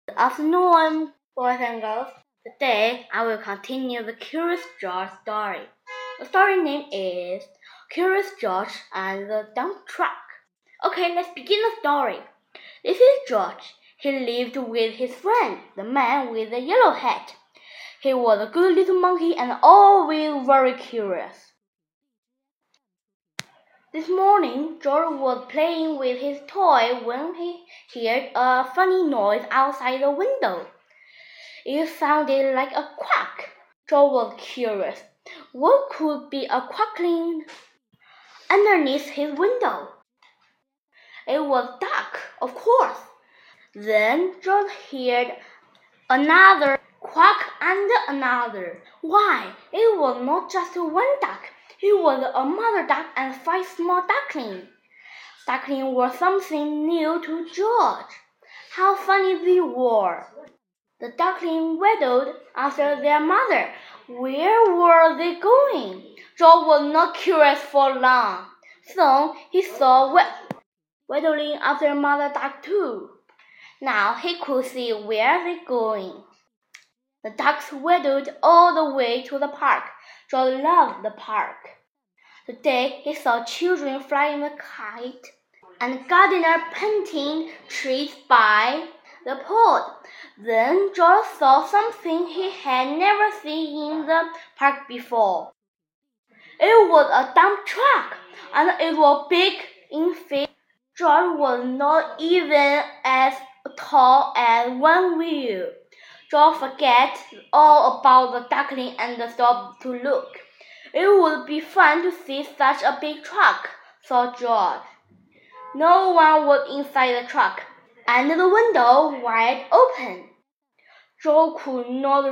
Good afternoon, boys and girls. Today I will continue the Curious George story. The story name is Curious George and the Dump Truck. Okay, let's begin the story. This is George. He lived with his friend, the man with the yellow hat. He was a good little monkey and always very curious. This morning, George was playing with his toy when he heard a funny noise outside the window. It sounded like a quack. George was curious. What could be a quackling underneath his window? It was dark, of course. Then George heard another quack and another. Why, it was not just one duck. It was a mother duck and 5 small ducklings. Ducklings were something new to George. How funny they were! The ducklings waddled after their mother. Where were they going? George was not curious for long. Soon he saw waddling after mother duck too. Now he could see where they were going. The ducks waddled all the way to the park. George loved the park. Today he saw children flying a kite and gardener planting trees by the pond. Then George saw something he had never seen in the park before. It was a dump truck, and it was big in face. George was not even as tall as one wheel. George forgot all about the duckling and stopped to look. It would be fun to see such a big truck, thought George. No one was inside the truck, and the window wide open. George could not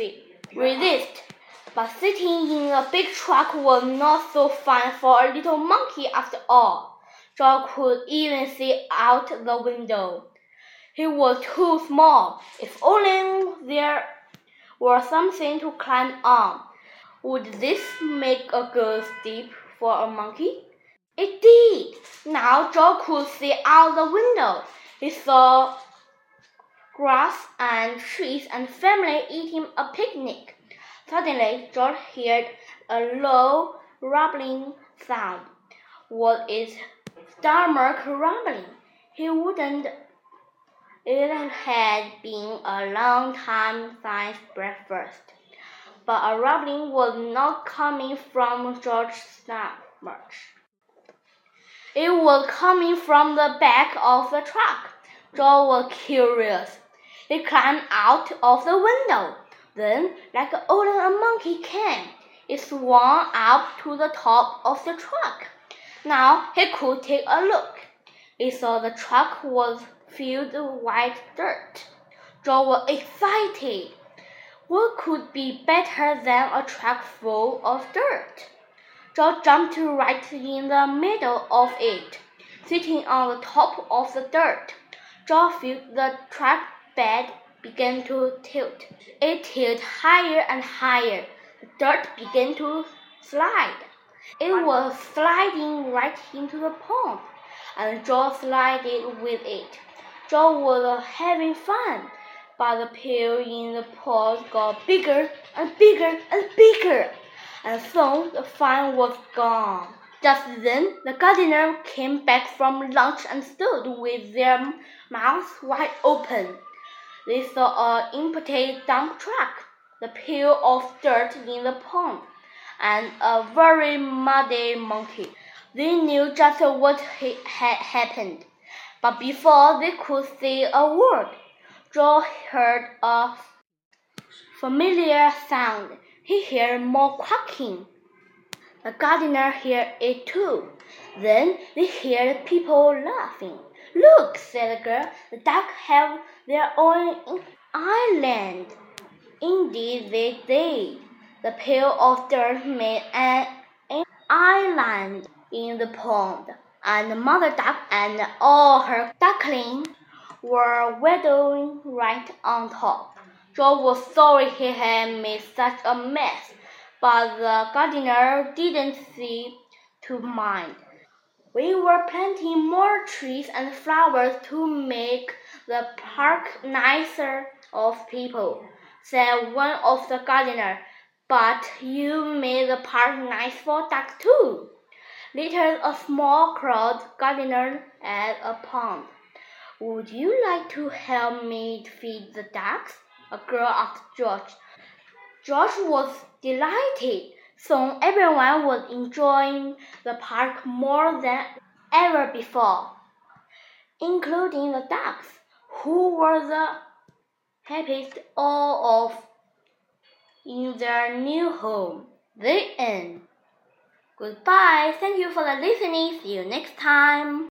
resist, but sitting in a big truck was not so fun for a little monkey after all. George could even see out the window. He was too small. If only there were something to climb on. Would this make a good step for a monkey? It did. Now George could see out the window. He saw grass and trees and family eating a picnic. Suddenly, George heard a low, rumbling sound. Was it stomach rumbling? He wouldn't. It had been a long time since breakfast. But a rumbling was not coming from George's stomach. It was coming from the back of the truck. George was curious. He climbed out of the window. Then, like only a monkey can, it swung up to the top of the truck. Now he could take a look. He saw the truck was filled with white dirt. George was excited. What could be better than a truck full of dirt? George jumped right in the middle of it, sitting on the top of the dirt. George felt the truck bed began to tilt. It tilted higher and higher. The dirt began to slide. It was sliding right into the pond, and George slided with it. George was having fun, but the pill in the pond got bigger and bigger and bigger, and soon the fun was gone. Just then the gardener came back from lunch and stood with their mouths wide open. They saw an empty dump truck, the pile of dirt in the pond, and a very muddy monkey. They knew just what had happened, but before they could say a word, George heard a familiar sound. He heard more quacking. The gardener heard it too. Then they heard people laughing. Look, said the girl, the ducks have their own island. Indeed they did. The pile of dirt made an island in the pond, and Mother Duck and all her ducklings were waddling right on top. George was sorry he had made such a mess, but the gardener didn't seem to mind. We were planting more trees and flowers to make the park nicer of people, said one of the gardeners. But you made the park nice for ducks too. Later, a small crowd gardener at a pond. Would you like to help me feed the ducks? A girl asked George. George was delighted. Soon everyone was enjoying the park more than ever before, including the ducks, who were the happiest all of in their new home. The end. Goodbye. Thank you for listening. See you next time.